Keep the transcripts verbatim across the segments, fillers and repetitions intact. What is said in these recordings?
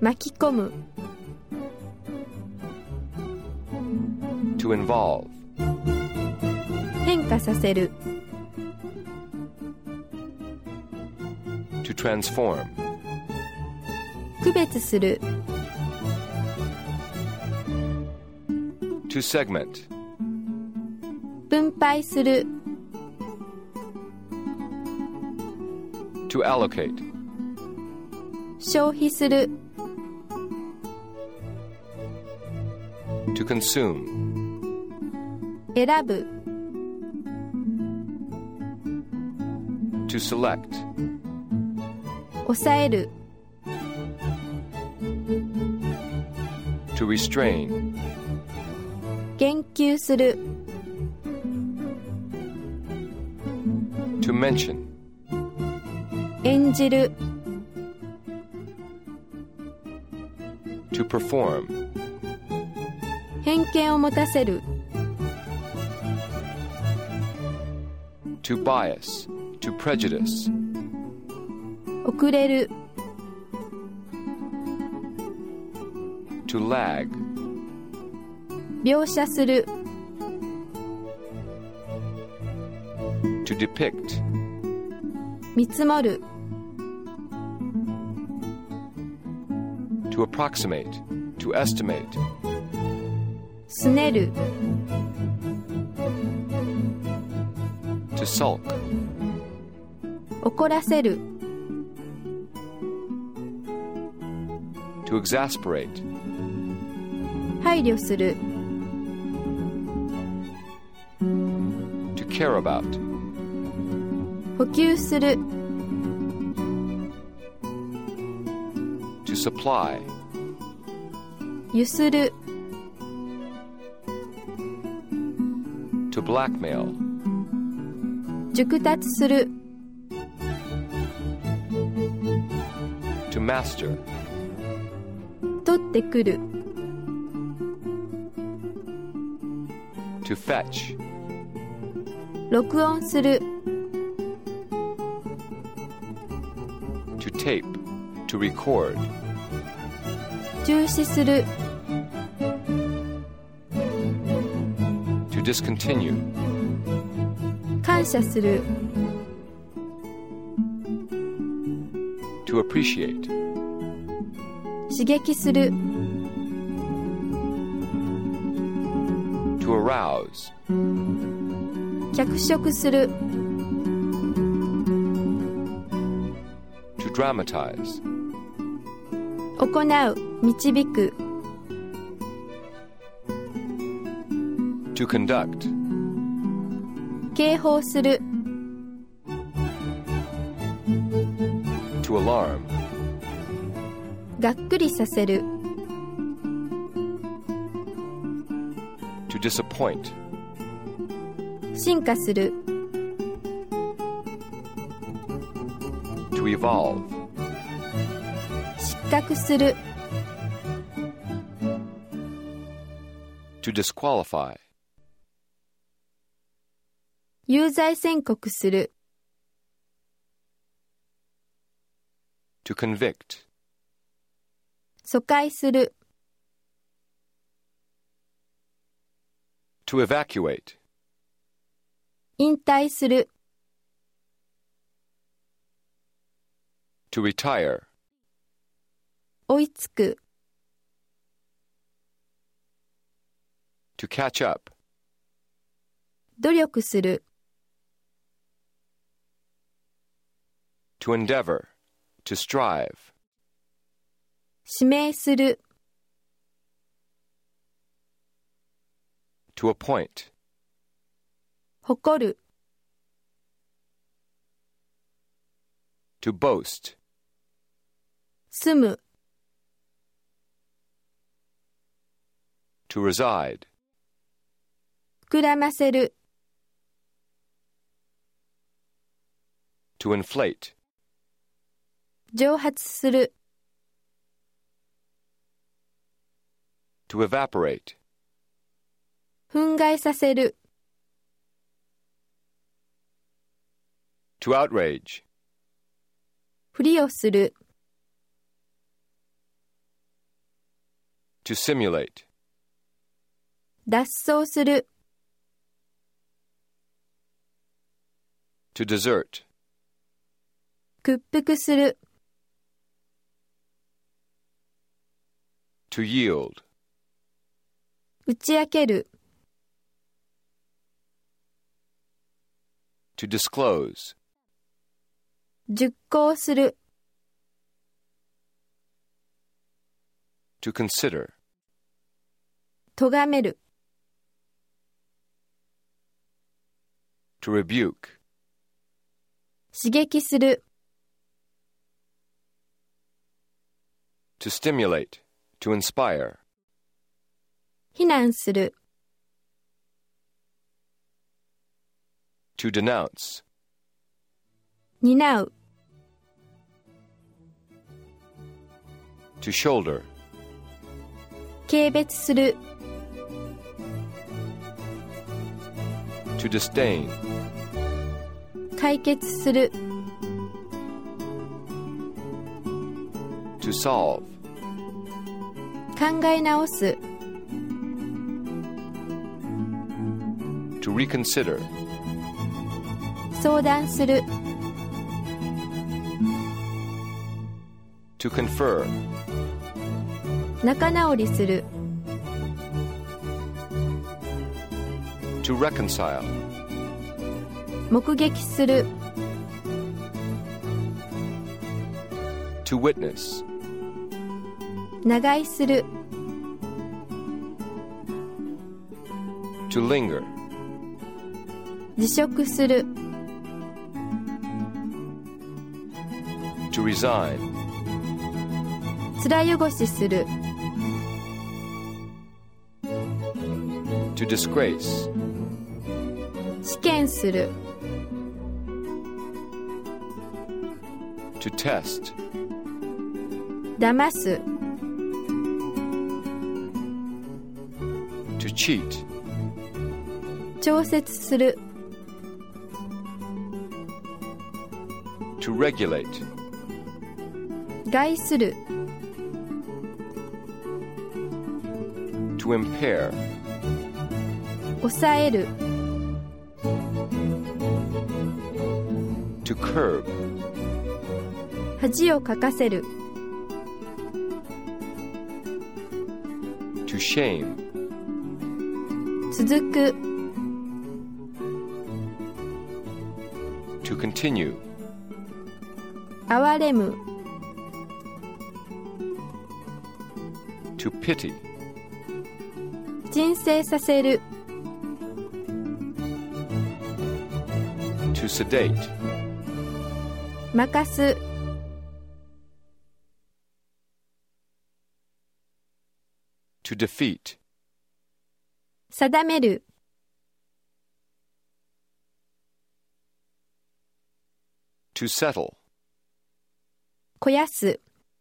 巻き込む To involve. 変化させる To transform. 区別する To segment. 分配する To allocate. 消費する To consume. 選ぶ To select. 抑える To restrain. 言及する To mention. 演じる To perform. 偏見を持たせる To bias. To prejudice. 遅れる To lag. 描写する To depict. 見積もる To approximate. To estimate. すねる To sulk. 怒らせる To exasperate. 配慮する To care about. 補給する To supply. ゆする To blackmail. 熟達する To master. 取ってくる To fetch. 録音する To tape. To record. 中止する To discontinue. 感謝する To appreciate. 刺激する To arouse. 脚色する To dramatize. 行う導く To conduct. 警報する To alarm. がっくりさせる To disappoint. 進化する To evolve. 失格する To disqualify. 有罪宣告する To convict. 疎開する To evacuate. 引退する To retire. 追いつく To catch up. 努力する To endeavor. To strive. 指名する To appoint. 誇る To boast. 住む To reside. 膨らませる To inflate. 蒸発する To evaporate. 憤慨させる To outrage. ふりをする To simulate. 脱走する、 To desert. 屈服する、 To yield. 打ち明ける、 To disclose. 熟考する、 To consider. 咎める、 To rebuke. 刺激する、 To stimulate. To inspire. 非難する、 To denounce. 担う、 To shoulder. 軽蔑する、 To disdain. 解決する、 To solve. 考え直す、 To reconsider. 相談する、 To confer. 仲直りする、 To reconcile. 目撃する、 To witness. 長居する、 To linger. 辞職する、 To resign. 面汚しする、 To disgrace. 試験する、 To test. 騙す、 To cheat. 調節する、 To regulate. 害する、 To impair. 抑える、 To curb. 恥をかかせる、 To shame. 続く、 To continue. 憐れむ、 To pity. 鎮静させる、 To sedate. 任す、 To defeat. 定める、 To settle. 肥やす、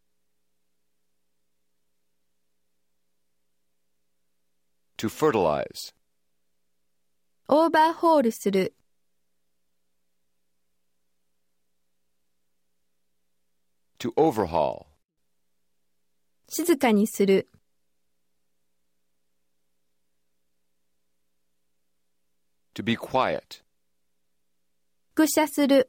To fertilize. オーバーホールする、 To overhaul. 静かにする、 To be quiet. 複写する、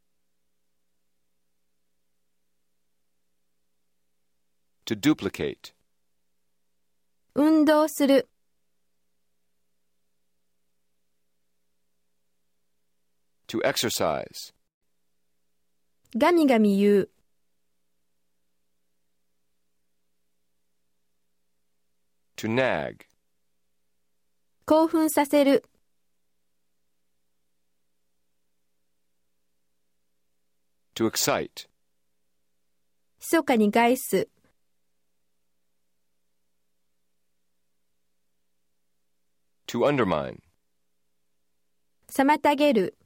To duplicate. 運動する、 To exercise. ガミガミ言う、 To nag. 興奮させる、 To excite. 密かに害す、 To undermine. 妨げる、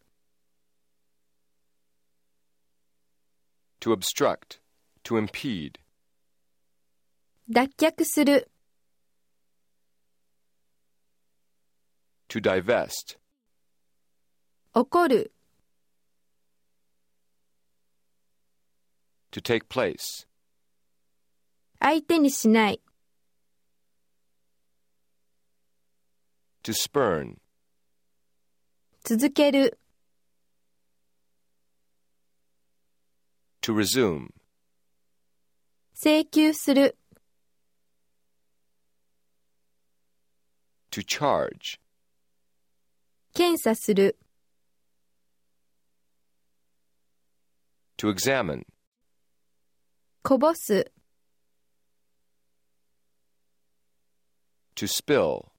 To obstruct. To impede. 脱却する、 To divest. 怒る、 To take place. 相手にしない、 To spurn. 続ける、 To resume. 請求する、 To charge. 検査する、 To examine. こぼす、 To spill.